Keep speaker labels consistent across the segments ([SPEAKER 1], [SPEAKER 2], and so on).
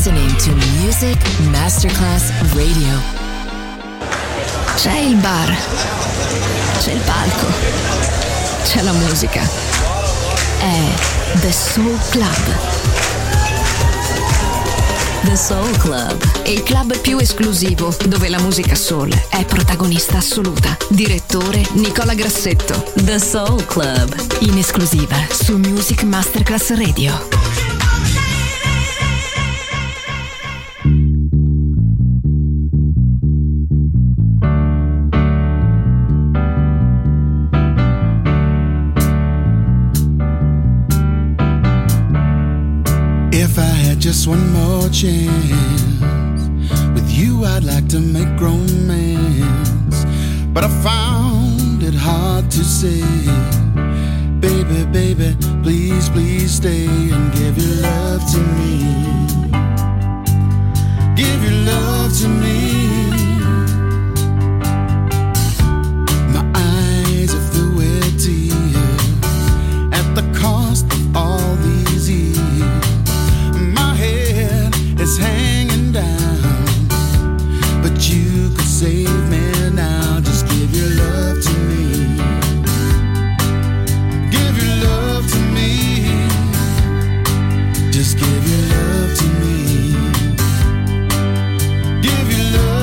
[SPEAKER 1] listening to Music Masterclass Radio.
[SPEAKER 2] C'è il bar, c'è il palco, c'è la musica. È The Soul Club.
[SPEAKER 1] The Soul Club,
[SPEAKER 2] Il club più esclusivo dove la musica soul è protagonista assoluta. Direttore Nicola Grassetto.
[SPEAKER 1] The Soul Club,
[SPEAKER 2] In esclusiva su Music Masterclass Radio.
[SPEAKER 3] If I had just one more chance, with you I'd like to make romance, but I found it hard to say, baby, baby, please, please stay and give your love to me. Give your love to me. My eyes are filled with tears at the cost of all these years. It's hanging down, but you could save me now. Just give your love to me. Give your love to me. Just give your love to me. Give your love.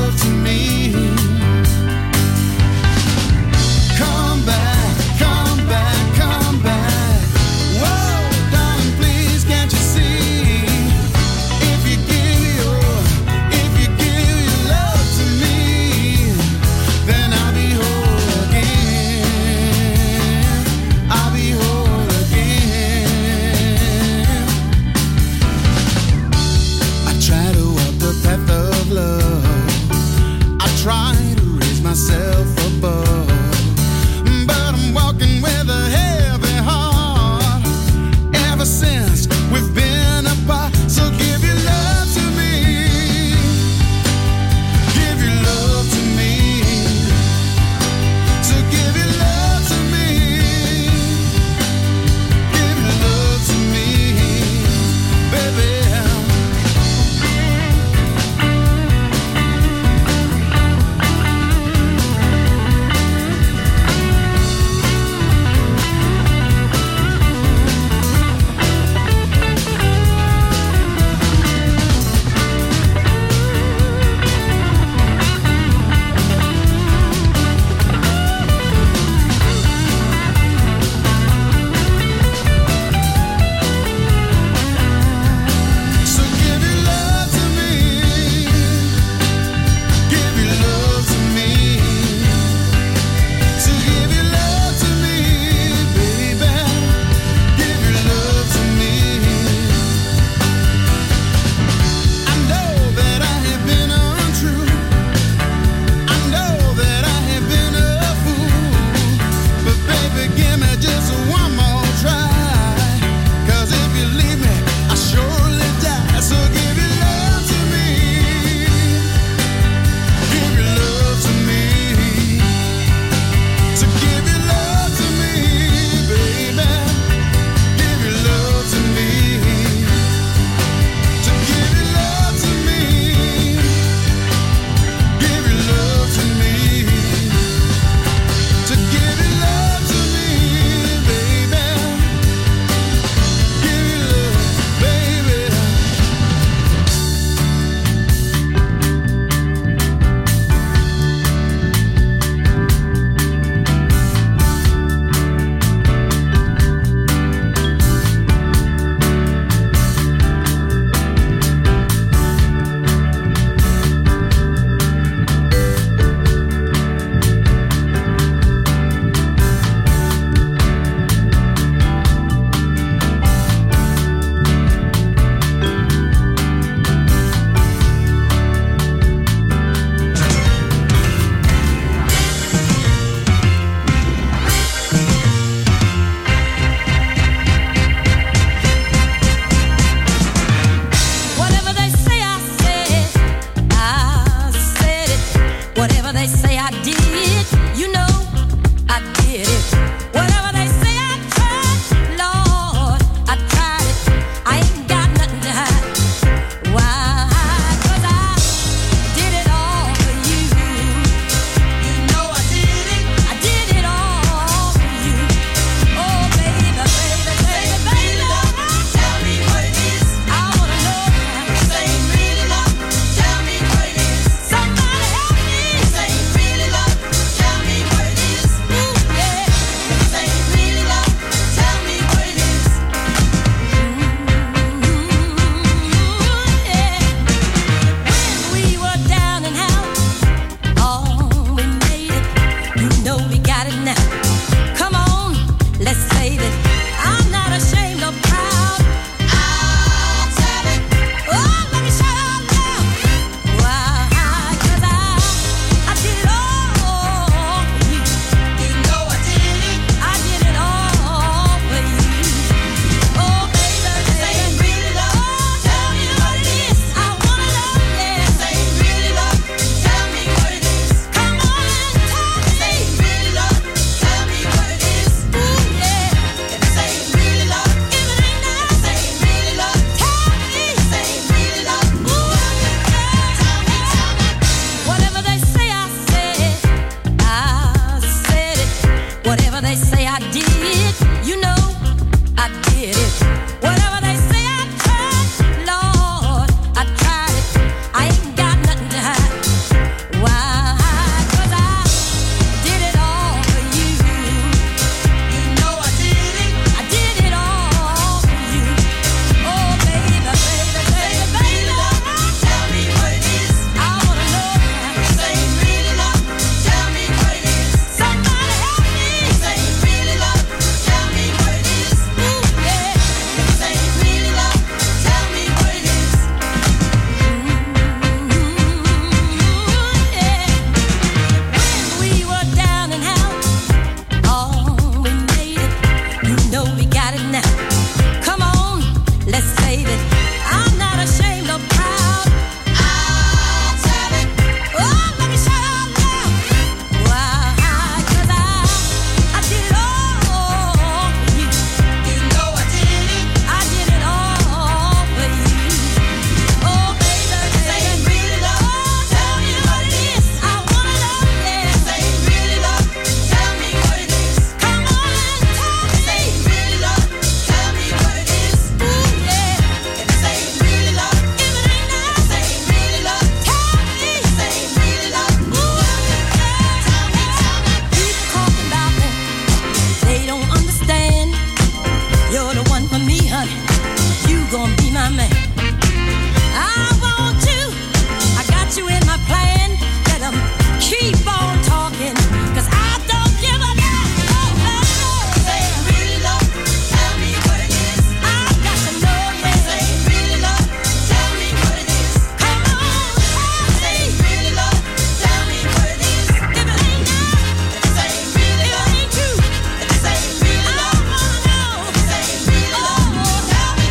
[SPEAKER 4] gonna be my man. I want you, I got you in my plan. Let them keep on talking, 'cause I don't give a damn. Say really love, tell me what it is. I got to know, yeah. Say really love, tell me what it is. Come on, say really love, tell me what it is. If it ain't now, say really love. If it ain't true, say really love. I wanna know. Say really love, tell me.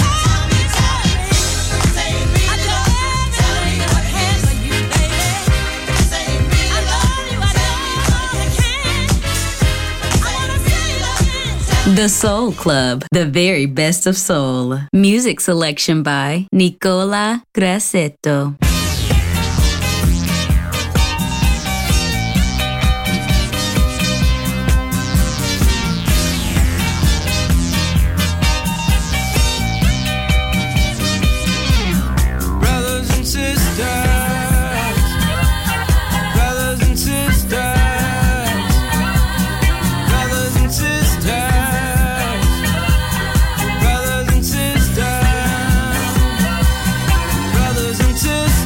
[SPEAKER 4] Say really love, tell me what it is. For you, baby. Say really I love you, I can. I wanna say love.
[SPEAKER 5] The Soul Club, the very best of soul. Music selection by Nicola Grassetto.
[SPEAKER 6] Brothers and sisters, brothers and sisters, brothers and sisters, brothers and sisters, brothers and sisters.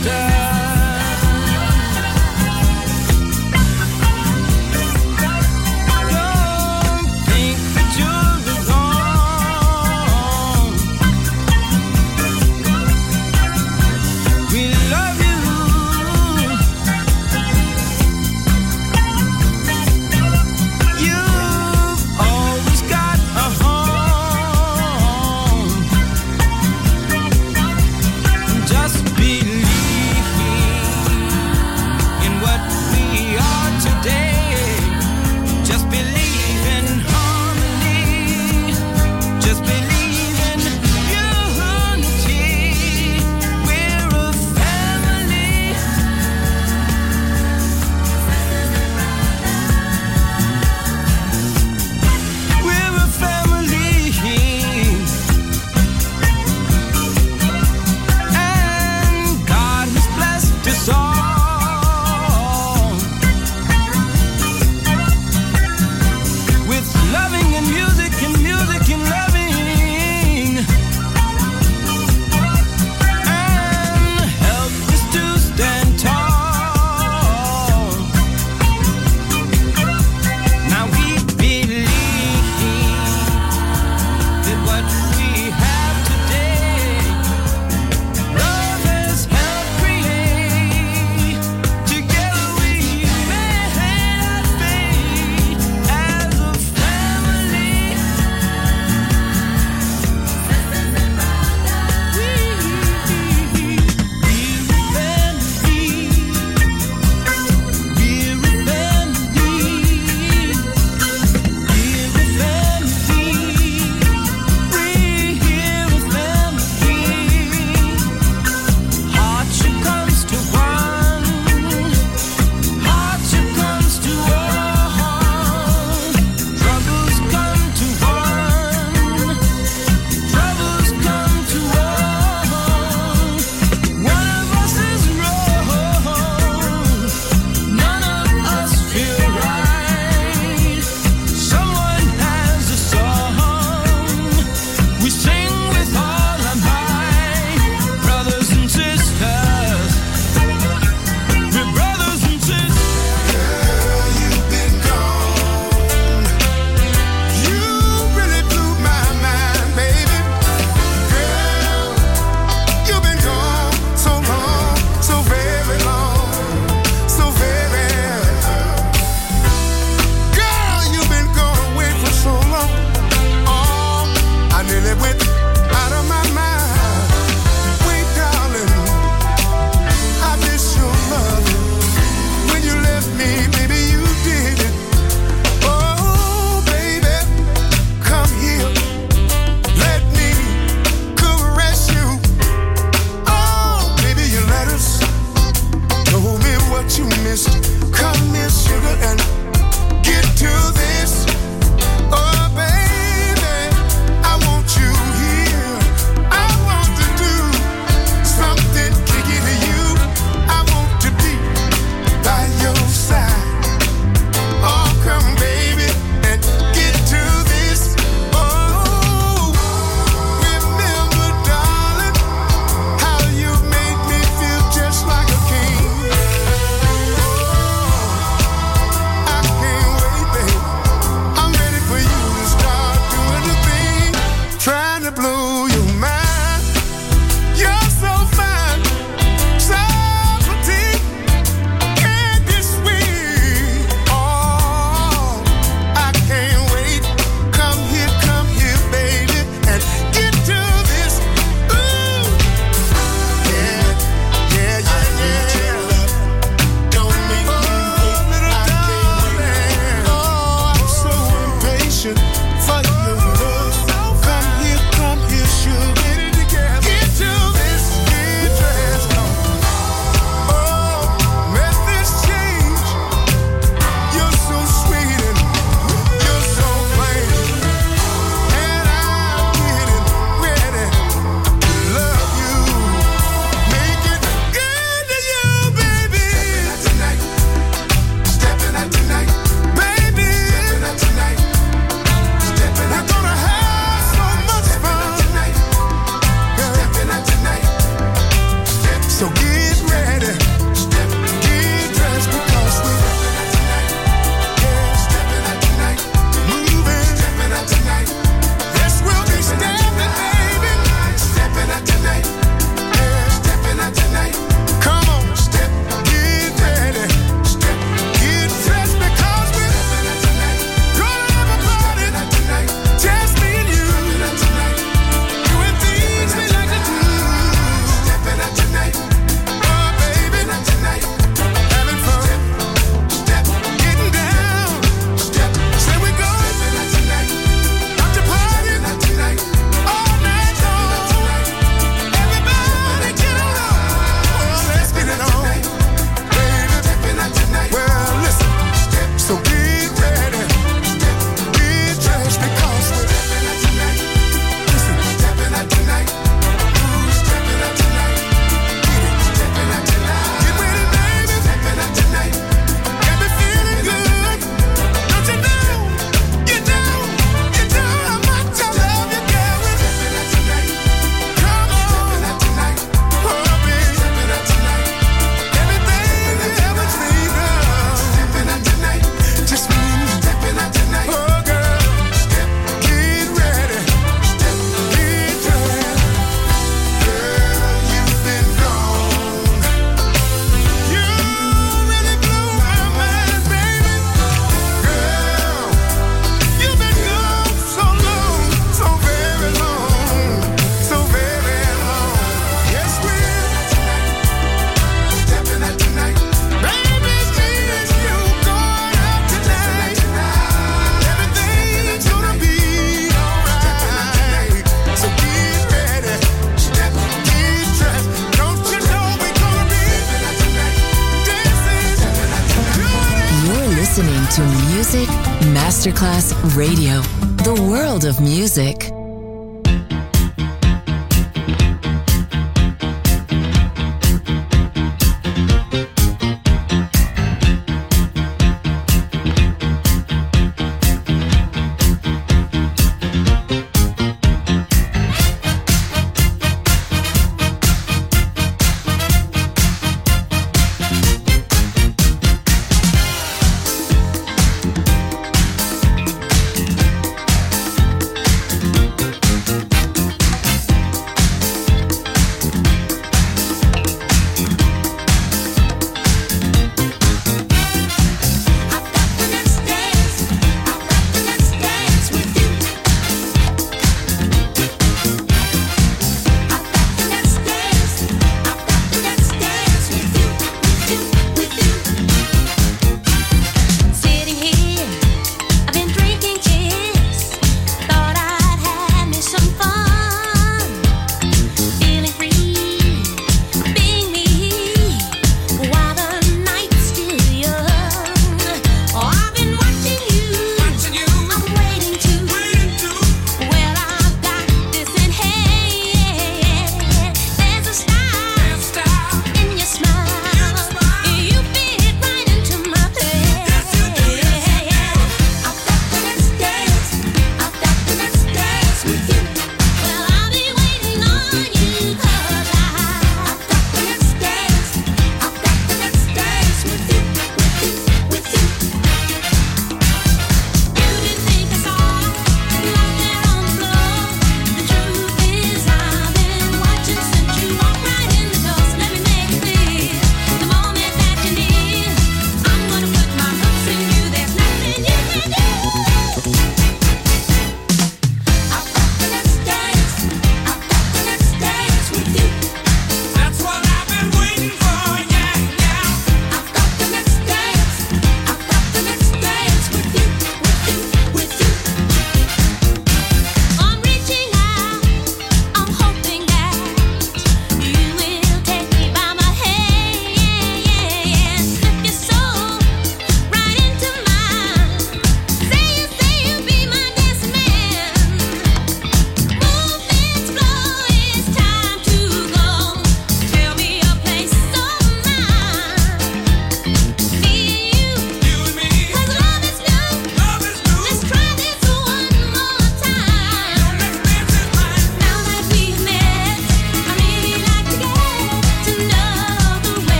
[SPEAKER 1] to Music Masterclass Radio, the world of music.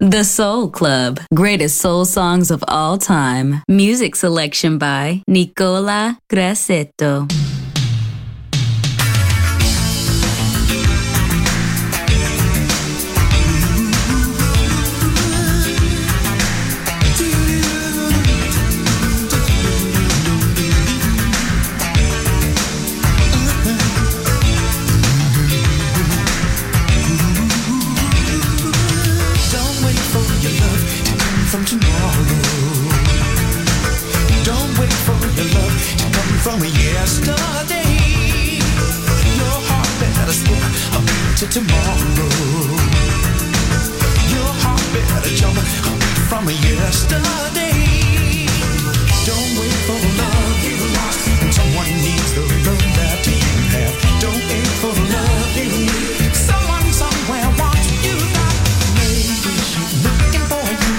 [SPEAKER 5] The Soul Club, greatest soul songs of all time. Music selection by Nicola Grassetto.
[SPEAKER 7] From tomorrow, don't wait for your love to come from yesterday. Your heart better skip a beat to tomorrow. Your heart better jump a beat from yesterday. Don't wait for love you lost. Someone needs the love that you have. Don't wait for love you need. Someone somewhere wants you back. Maybe she's looking for you.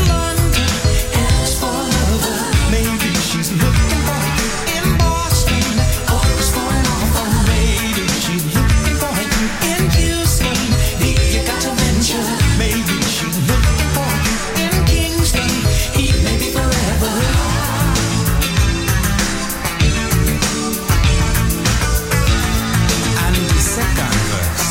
[SPEAKER 7] Maybe she's looking for you in Boston. Oh, it's going off. Maybe she's looking for you in Houston. You got to venture. Maybe she's looking for you in Kingston. Maybe forever. And the second verse.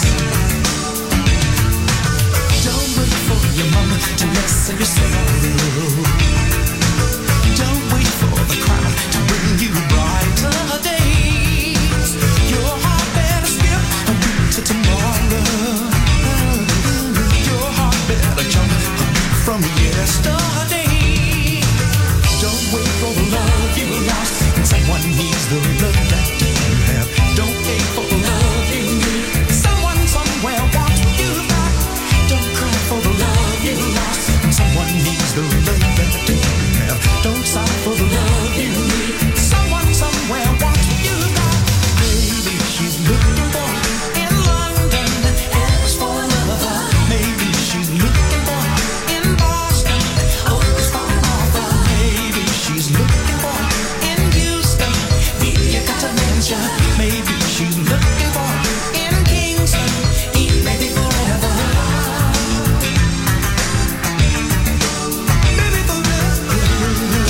[SPEAKER 7] Don't wait for your mama to lessen your sorrow. Don't wait for the crowd to bring you brighter days. Your heart better skip a beat to tomorrow. Your heart better jump a beat from yesterday. Don't wait for the love you lost. Someone needs the love that you have. Don't wait for the love you need. Someone somewhere wants you back. Don't cry for the love you lost. Someone needs the love that you have. Don't sigh for the love you need. Someone somewhere wants you back. Maybe she's looking for you in London. Ask for a lover. Maybe she's looking for you in Boston. Oh, it's fine offer. Maybe she's looking for you in Houston. You got to venture. Maybe she's looking for you in Kingston. Maybe forever. Maybe forever.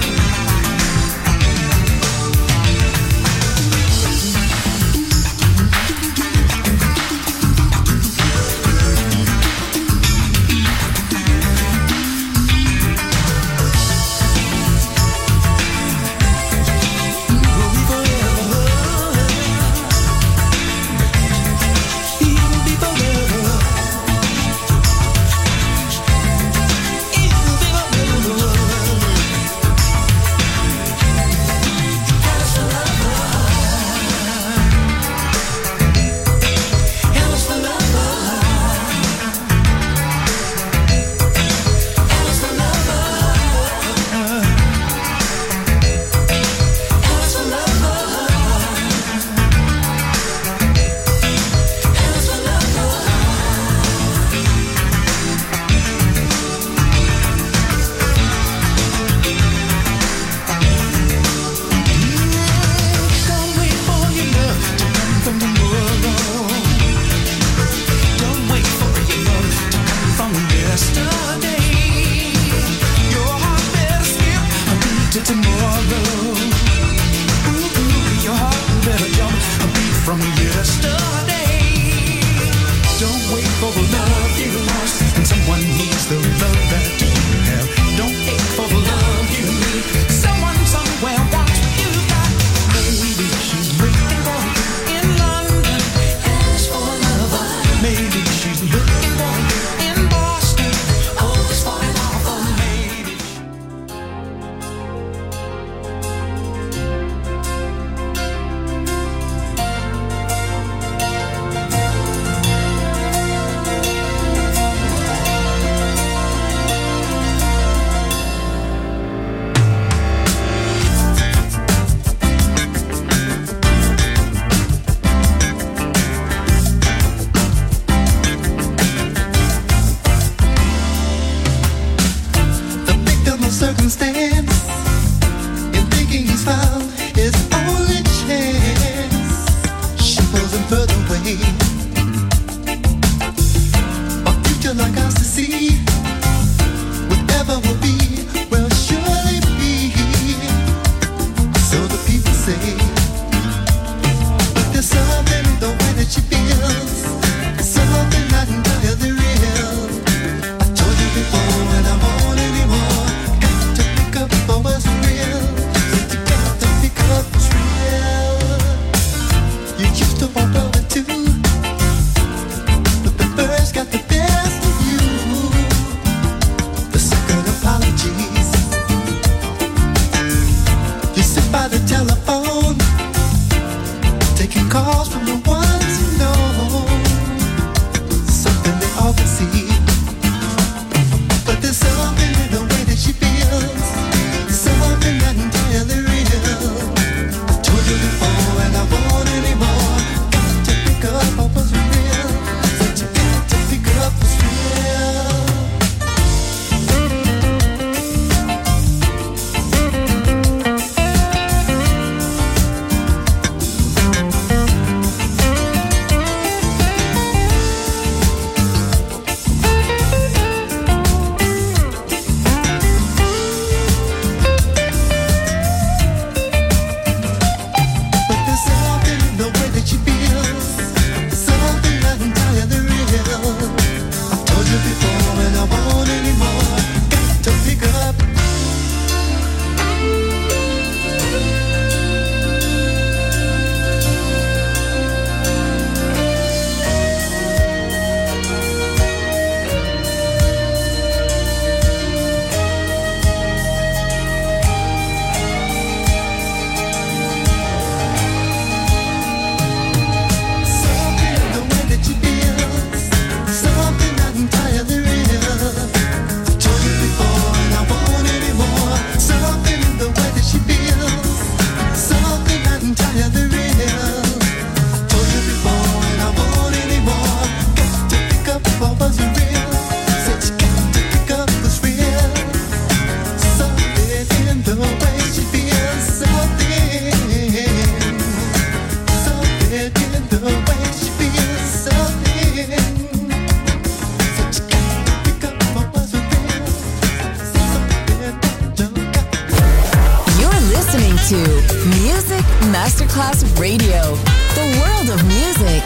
[SPEAKER 7] Don't wait for your love to come from tomorrow. Don't wait for your love to come from yesterday. Your heart better skip a beat to tomorrow. Your heart better jump a beat from yesterday. Don't wait for the love you lost. And someone needs the love that you have. Don't wait for the love you need. Someone somewhere wants you back. Maybe she's looking for you in London. Ask for a lover. Maybe she's looking for you in Boston. Oh, it's fine offer. Maybe.
[SPEAKER 3] The victim of circumstance, in thinking he's found his only chance, she pulls him further away. A future like ours to see,
[SPEAKER 1] Music Masterclass Radio. The world of music.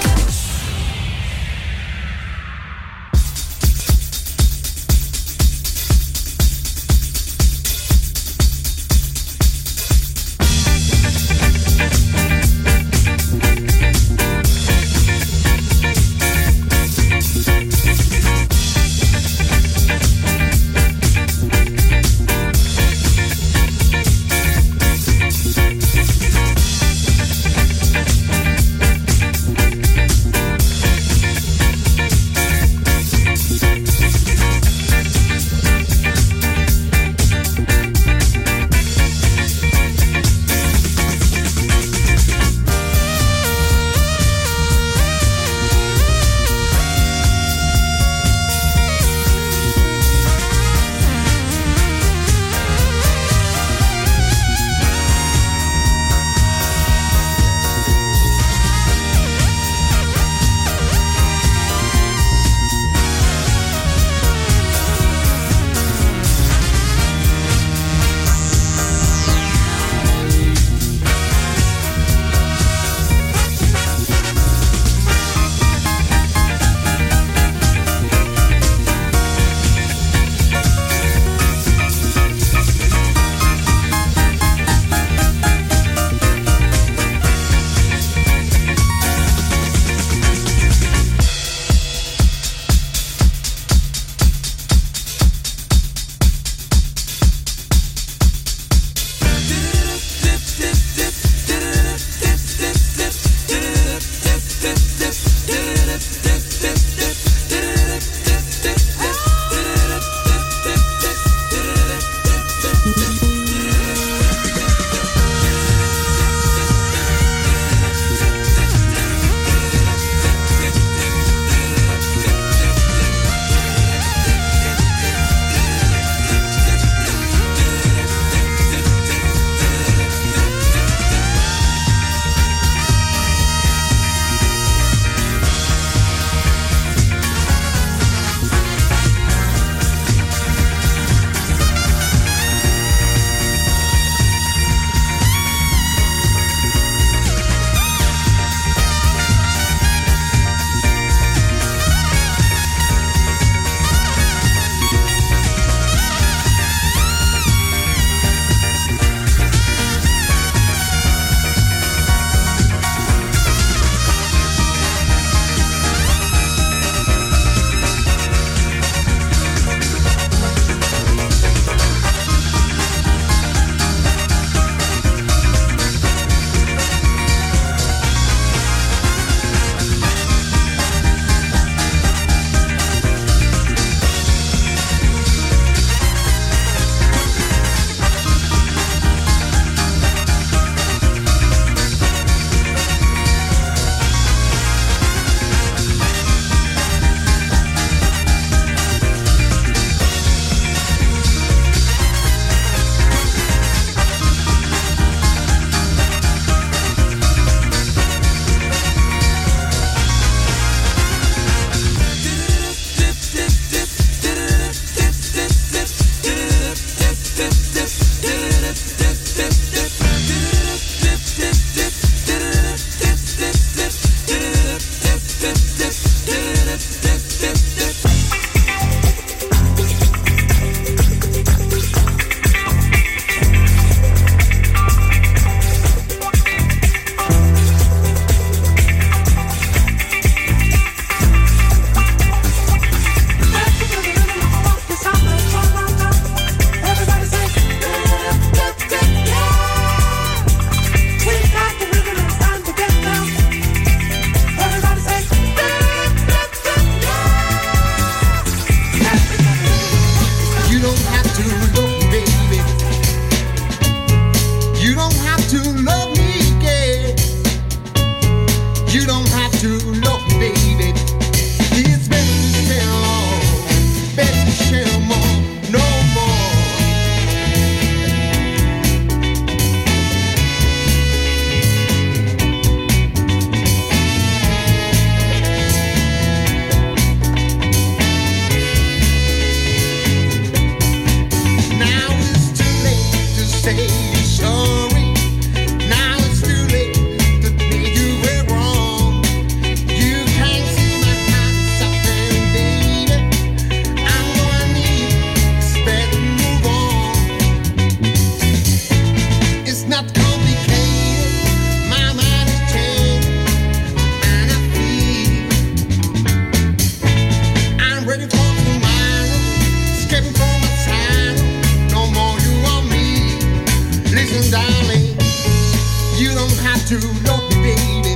[SPEAKER 3] to love me, baby.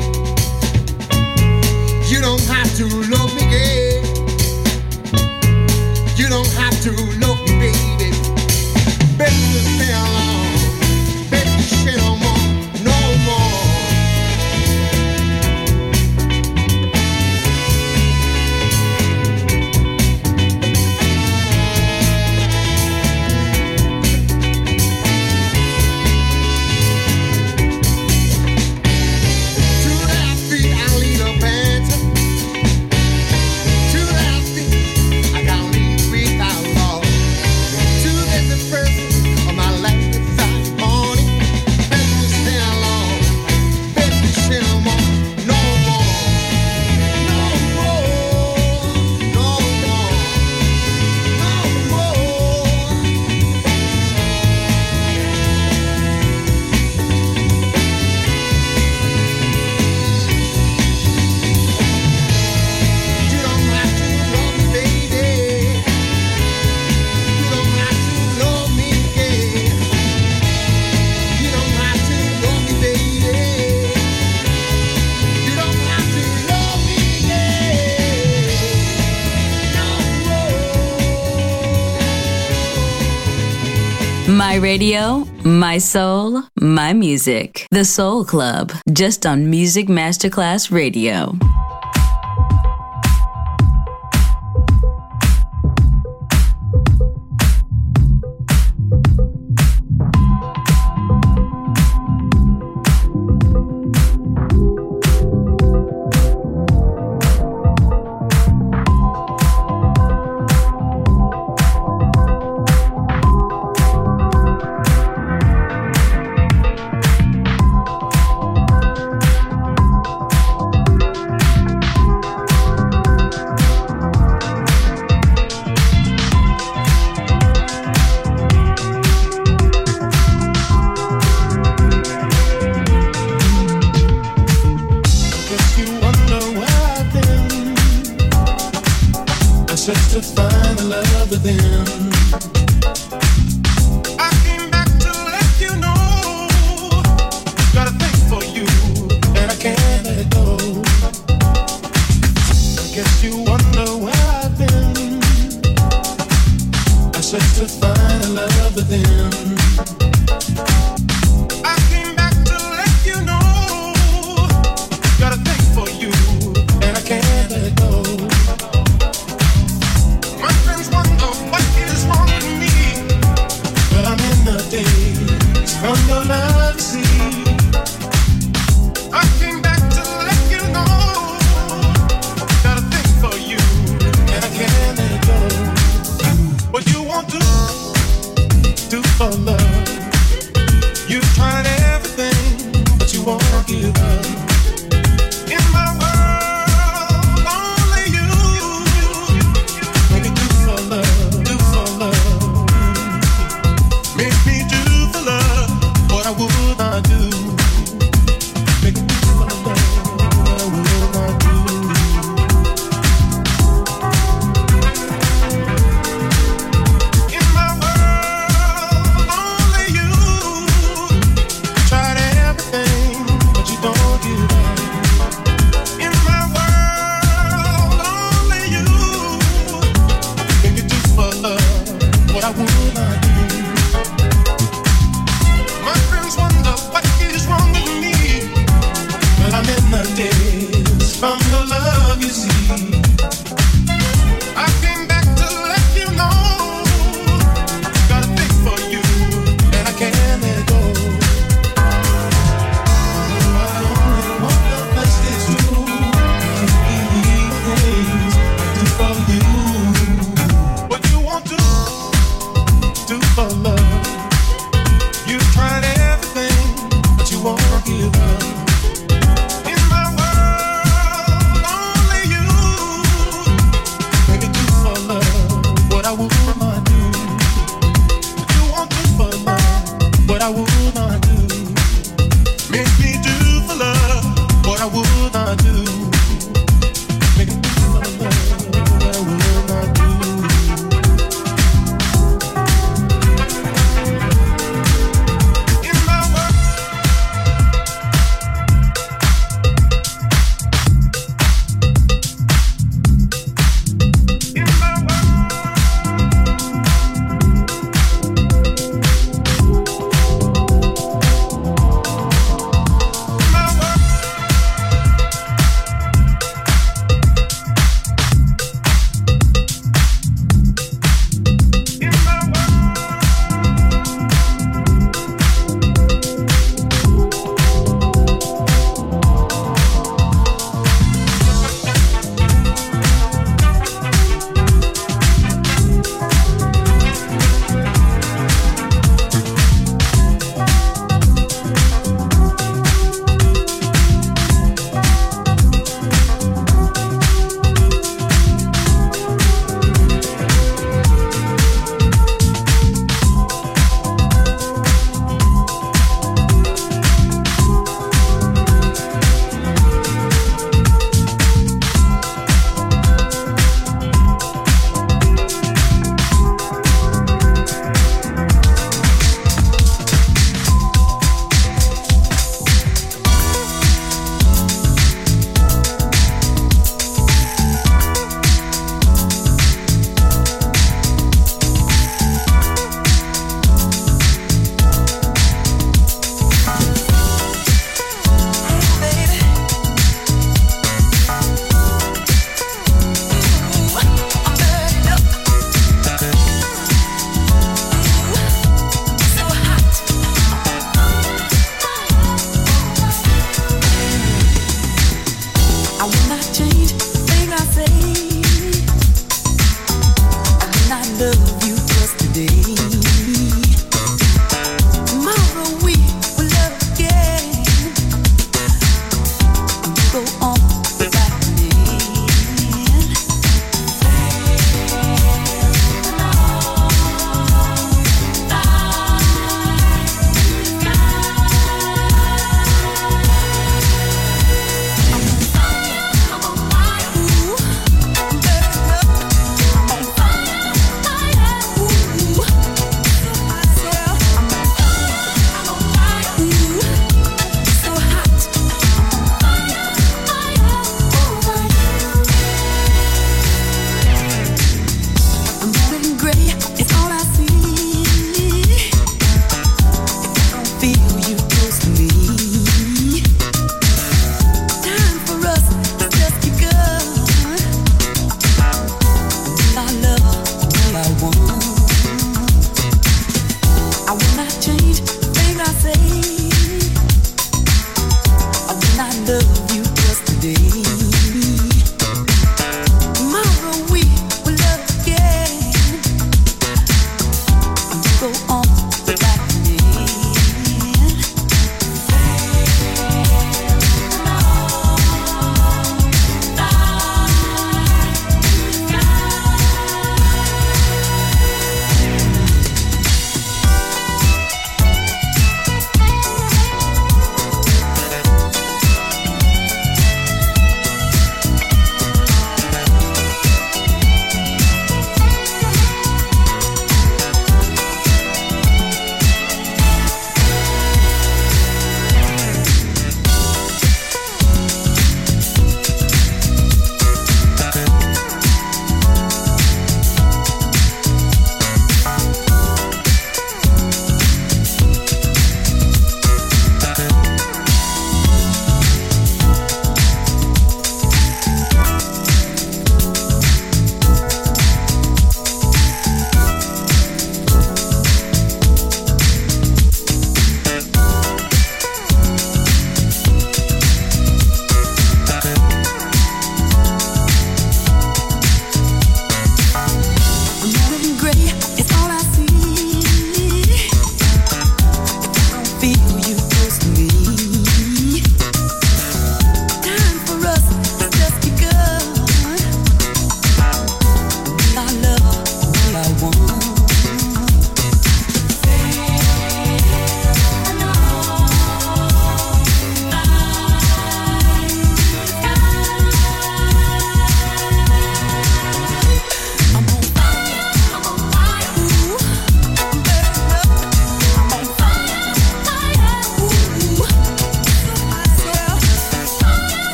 [SPEAKER 3] You don't have to love me, girl. You don't have to love me, baby. Baby, stay alone. Baby, stay no more, no more.
[SPEAKER 5] My radio, my soul, my music. The Soul Club, just on Music Masterclass Radio.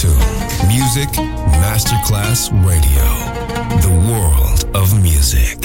[SPEAKER 8] to Music Masterclass Radio, the world of music.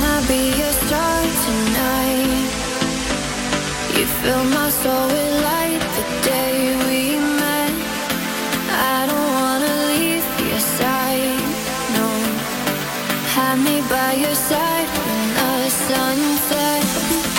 [SPEAKER 9] Can I be your star tonight? You fill my soul with light the day we met. I don't wanna leave your side, no. Have me by your side when the sun sets.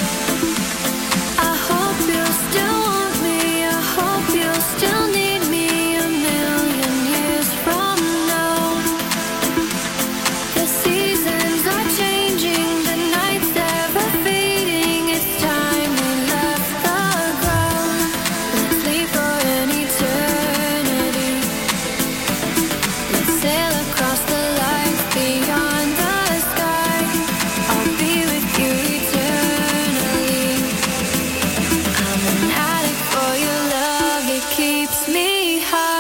[SPEAKER 9] I hope you'll still want me. I hope you'll still need me a million years from now. The seasons are changing, the nights ever fading. It's time we left the ground. Let's leave for an eternity. Let's sail across the light beyond the sky. I'll be with you eternally. I'm an addict for your love, it keeps me high.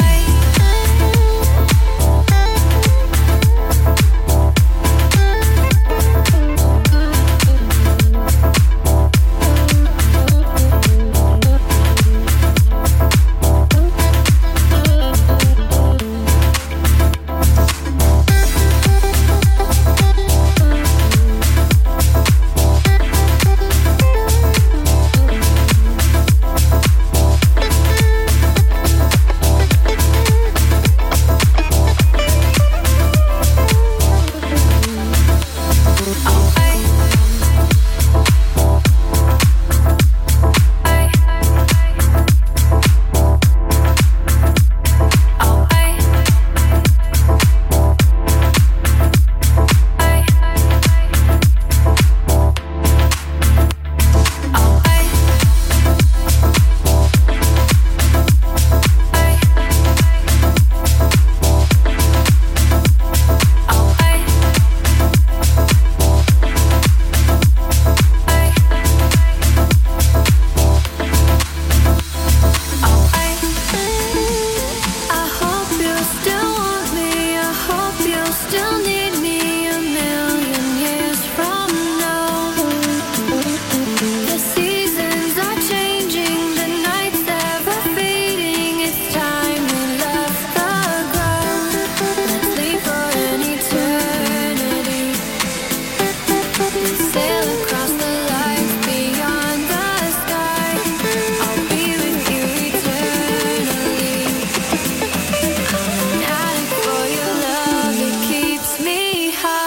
[SPEAKER 9] I hope you'll still want me. I hope you'll still need me a million years from now. The seasons are changing, the nights ever fading. It's time we left the ground. Let's leave for an eternity. Let's sail across the light beyond the sky. I'll be with you eternally. I'm an addict for your love, it keeps me high.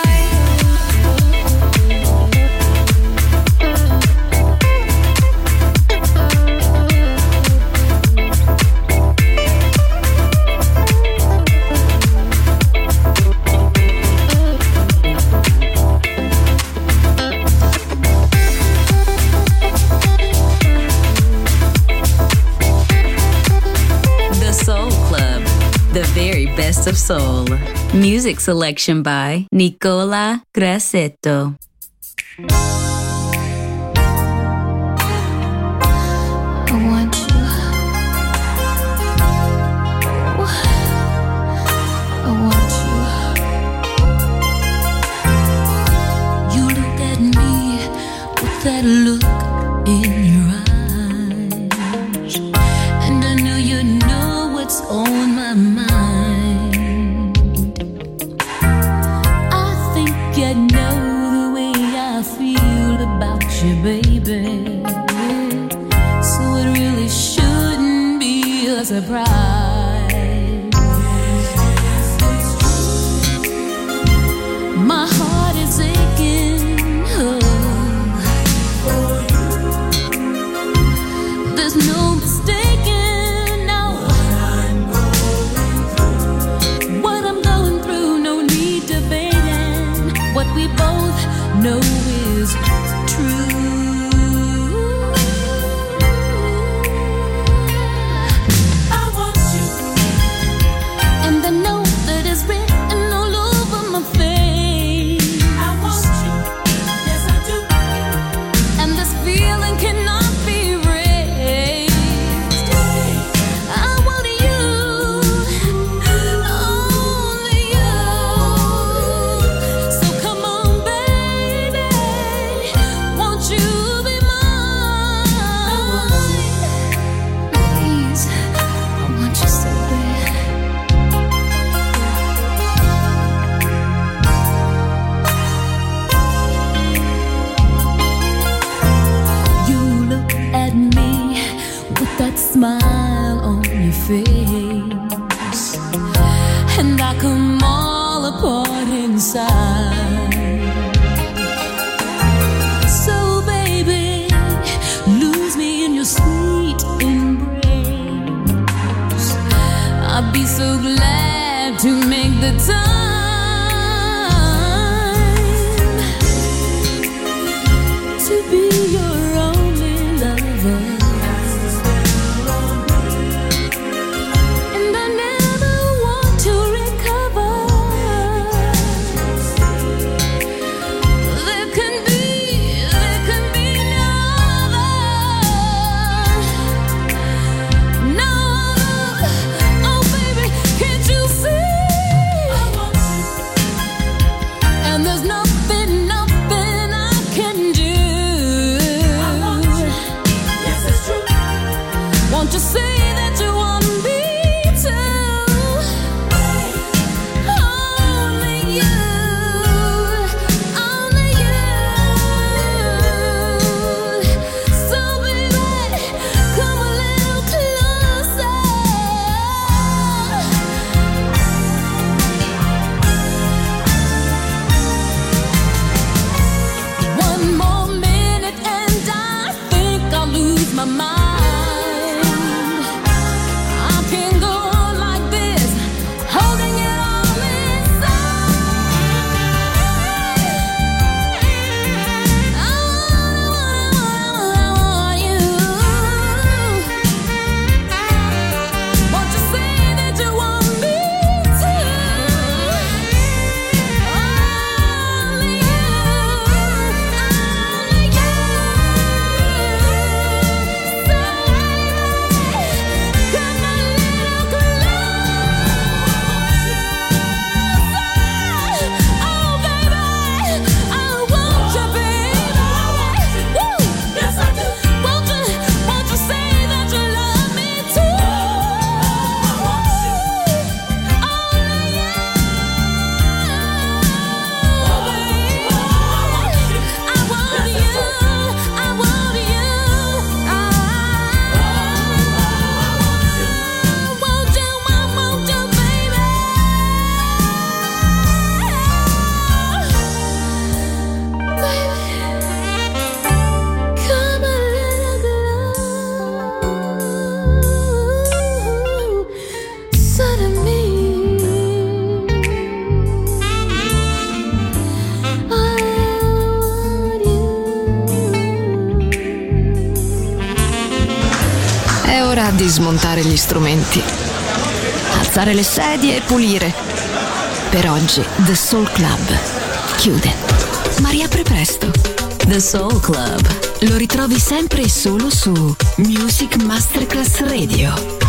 [SPEAKER 5] The Soul Club, the very best of soul. Music selection by Nicola Grassetto.
[SPEAKER 9] I want you. I want you.
[SPEAKER 10] You look at me with that look in your eyes, and I know you know what's on my mind. I think you know the way I feel about you, baby. So it really shouldn't be a surprise. My heart is aching. There's no mistaking now what I'm going through. No need debating. What we both know is true. I want you, and I know that it's written all over my face. I want you, yes I do. And this feeling cannot be erased. I want you, only you. So come on, baby, won't you
[SPEAKER 2] di smontare gli strumenti, alzare le sedie e pulire. Per oggi The Soul Club chiude, ma riapre presto.
[SPEAKER 5] The Soul Club.
[SPEAKER 2] Lo ritrovi sempre e solo su Music Masterclass Radio.